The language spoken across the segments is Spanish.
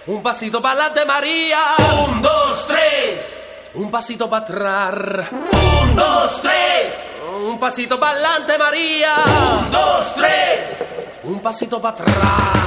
un pasito para adelante, María. 1, 2, 3. Un pasito para atrás. 1, 2, 3. Un pasito para adelante, María. 1, 2, 3. Un pasito para atrás.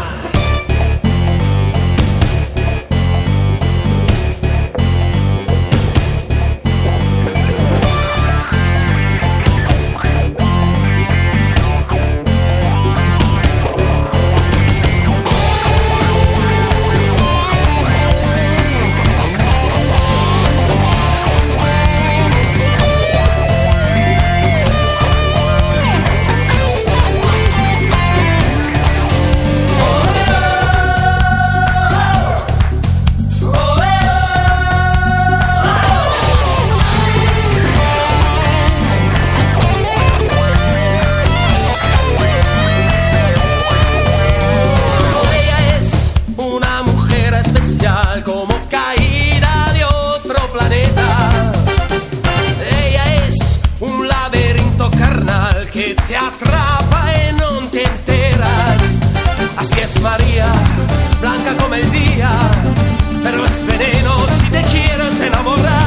Te atrapa y no te enteras. Así es María, blanca como el día, pero es veneno si te quieres enamorar.